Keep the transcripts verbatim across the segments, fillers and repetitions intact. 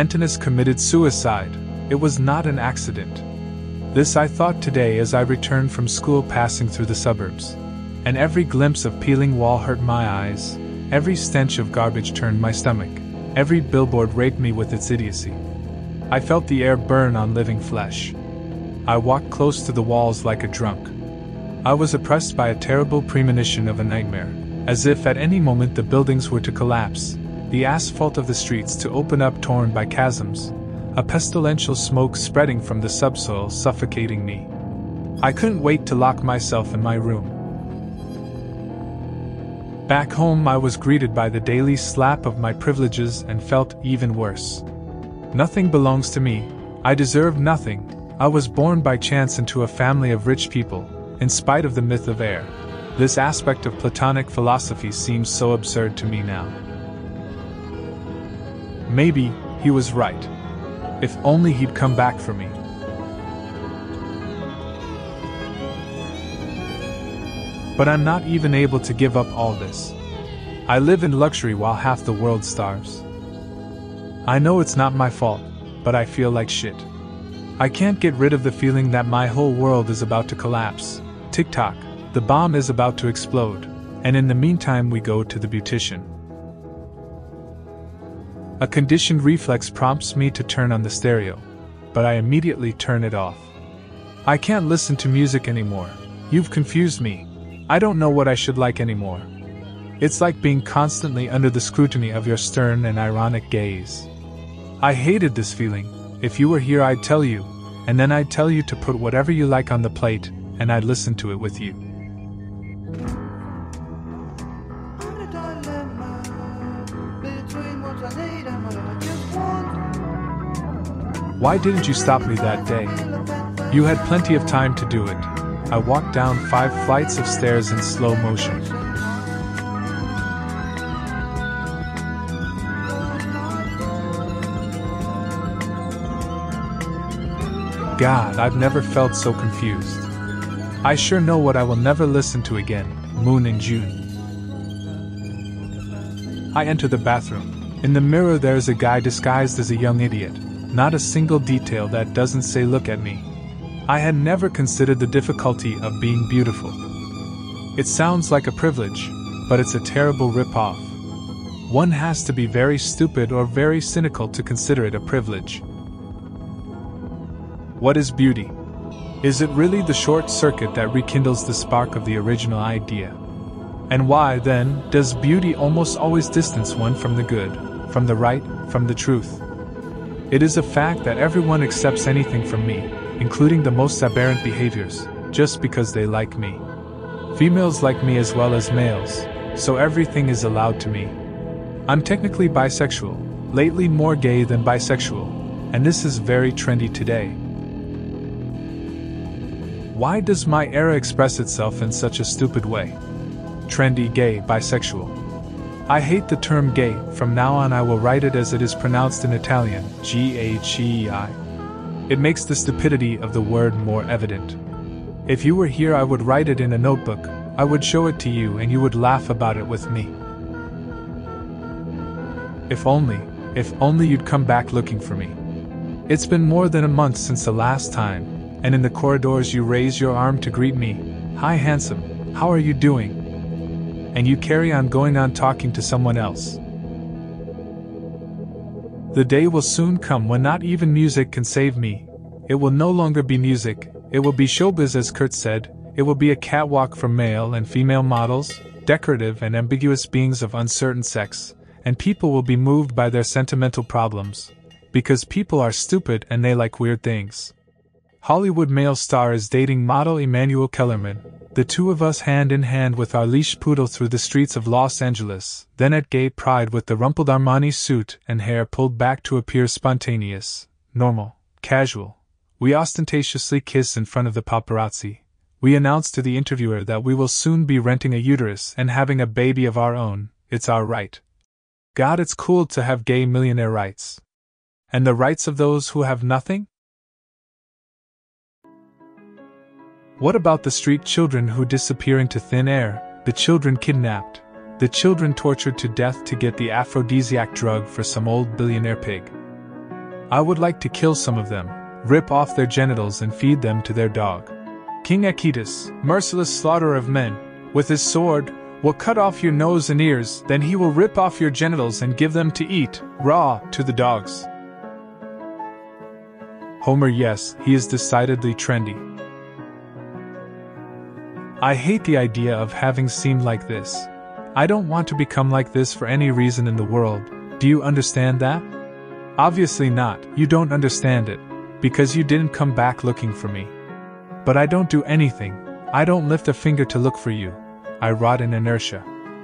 Antinous committed suicide. It was not an accident. This I thought today as I returned from school passing through the suburbs. And every glimpse of peeling wall hurt my eyes, every stench of garbage turned my stomach, every billboard raped me with its idiocy. I felt the air burn on living flesh. I walked close to the walls like a drunk. I was oppressed by a terrible premonition of a nightmare, as if at any moment the buildings were to collapse, the asphalt of the streets to open up torn by chasms, a pestilential smoke spreading from the subsoil suffocating me. I couldn't wait to lock myself in my room. Back home I was greeted by the daily slap of my privileges and felt even worse. Nothing belongs to me, I deserve nothing, I was born by chance into a family of rich people, in spite of the myth of heir. This aspect of Platonic philosophy seems so absurd to me now. Maybe he was right. If only he'd come back for me. But I'm not even able to give up all this. I live in luxury while half the world starves. I know it's not my fault, but I feel like shit. I can't get rid of the feeling that my whole world is about to collapse. Tick-tock, the bomb is about to explode, and in the meantime we go to the beautician. A conditioned reflex prompts me to turn on the stereo, but I immediately turn it off. I can't listen to music anymore. You've confused me. I don't know what I should like anymore. It's like being constantly under the scrutiny of your stern and ironic gaze. I hated this feeling. If you were here I'd tell you, and then I'd tell you to put whatever you like on the plate, and I'd listen to it with you. Why didn't you stop me that day? You had plenty of time to do it. I walked down five flights of stairs in slow motion. God, I've never felt so confused. I sure know what I will never listen to again, Moon in June. I enter the bathroom. In the mirror there's a guy disguised as a young idiot. Not a single detail that doesn't say look at me. I had never considered the difficulty of being beautiful. It sounds like a privilege, but it's a terrible rip-off. One has to be very stupid or very cynical to consider it a privilege. What is beauty? Is it really the short circuit that rekindles the spark of the original idea? And why, then, does beauty almost always distance one from the good, from the right, from the truth? It is a fact that everyone accepts anything from me, including the most aberrant behaviors, just because they like me. Females like me as well as males, so everything is allowed to me. I'm technically bisexual, lately more gay than bisexual, and this is very trendy today. Why does my era express itself in such a stupid way? Trendy, gay, bisexual. I hate the term gay. From now on I will write it as it is pronounced in Italian, G H E I. It makes the stupidity of the word more evident. If you were here I would write it in a notebook, I would show it to you and you would laugh about it with me. If only, if only you'd come back looking for me. It's been more than a month since the last time, and in the corridors you raise your arm to greet me. Hi handsome, how are you doing? And you carry on going on talking to someone else. The day will soon come when not even music can save me. It will no longer be music, it will be showbiz as Kurt said, it will be a catwalk for male and female models, decorative and ambiguous beings of uncertain sex, and people will be moved by their sentimental problems, because people are stupid and they like weird things. Hollywood male star is dating model Emmanuel Kellerman, the two of us hand in hand with our leash poodle through the streets of Los Angeles, then at gay pride with the rumpled Armani suit and hair pulled back to appear spontaneous, normal, casual. We ostentatiously kiss in front of the paparazzi. We announce to the interviewer that we will soon be renting a uterus and having a baby of our own. It's our right. God, it's cool to have gay millionaire rights. And the rights of those who have nothing? What about the street children who disappear into thin air, the children kidnapped, the children tortured to death to get the aphrodisiac drug for some old billionaire pig? I would like to kill some of them, rip off their genitals and feed them to their dog. King Aeetes, merciless slaughterer of men, with his sword, will cut off your nose and ears, then he will rip off your genitals and give them to eat, raw, to the dogs. Homer, yes, he is decidedly trendy. I hate the idea of having seemed like this. I don't want to become like this for any reason in the world. Do you understand that? Obviously not, you don't understand it, because you didn't come back looking for me. But I don't do anything, I don't lift a finger to look for you. I rot in inertia.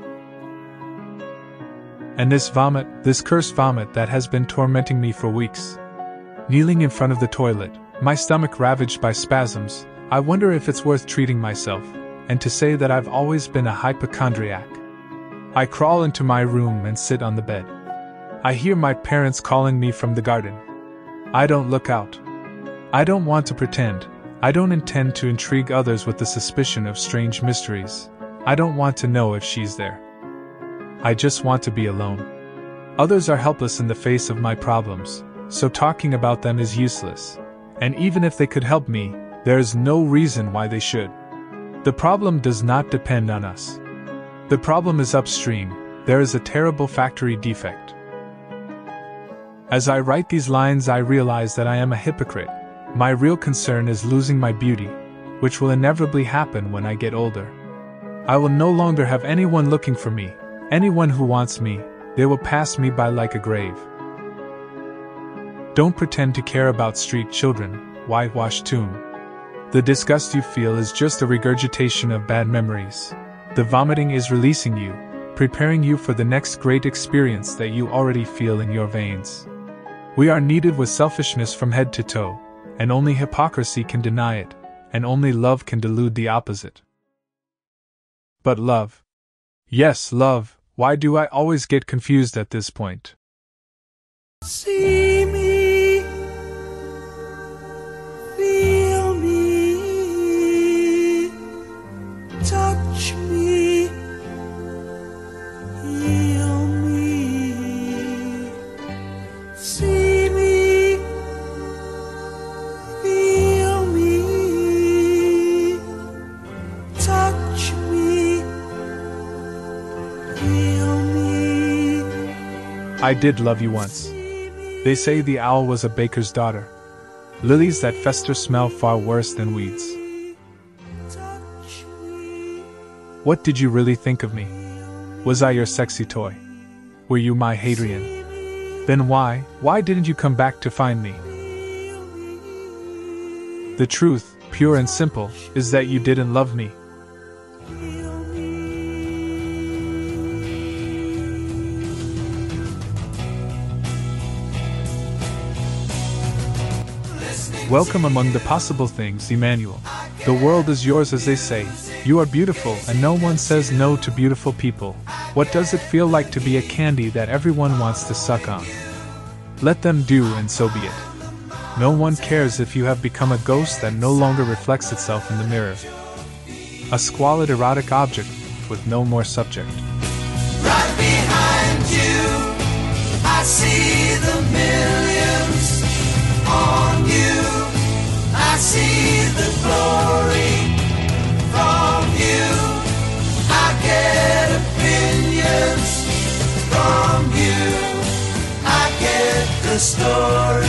And this vomit, this cursed vomit that has been tormenting me for weeks. Kneeling in front of the toilet, my stomach ravaged by spasms, I wonder if it's worth treating myself, and to say that I've always been a hypochondriac. I crawl into my room and sit on the bed. I hear my parents calling me from the garden. I don't look out. I don't want to pretend. I don't intend to intrigue others with the suspicion of strange mysteries. I don't want to know if she's there. I just want to be alone. Others are helpless in the face of my problems, so talking about them is useless. And even if they could help me, there is no reason why they should. The problem does not depend on us. The problem is upstream. There is a terrible factory defect. As I write these lines, I realize that I am a hypocrite. My real concern is losing my beauty, which will inevitably happen when I get older. I will no longer have anyone looking for me, anyone who wants me. They will pass me by like a grave. Don't pretend to care about street children, whitewashed tomb. The disgust you feel is just a regurgitation of bad memories. The vomiting is releasing you, preparing you for the next great experience that you already feel in your veins. We are kneaded with selfishness from head to toe, and only hypocrisy can deny it, and only love can delude the opposite. But love. Yes, love, why do I always get confused at this point? See me, feel me, touch me, heal me. See me, feel me, touch me, heal me. I did love you once. They say the owl was a baker's daughter. Lilies that fester smell far worse than weeds. What did you really think of me? Was I your sexy toy? Were you my Hadrian? Then why, why didn't you come back to find me? The truth, pure and simple, is that you didn't love me. Welcome among the possible things, Emmanuel. The world is yours, as they say. You are beautiful, and no one says no to beautiful people. What does it feel like to be a candy that everyone wants to suck on? Let them do, and so be it. No one cares if you have become a ghost that no longer reflects itself in the mirror. A squalid erotic object with no more subject. Right behind you, I see the millions on you. I see the glory from you. I get opinions from you. I get the story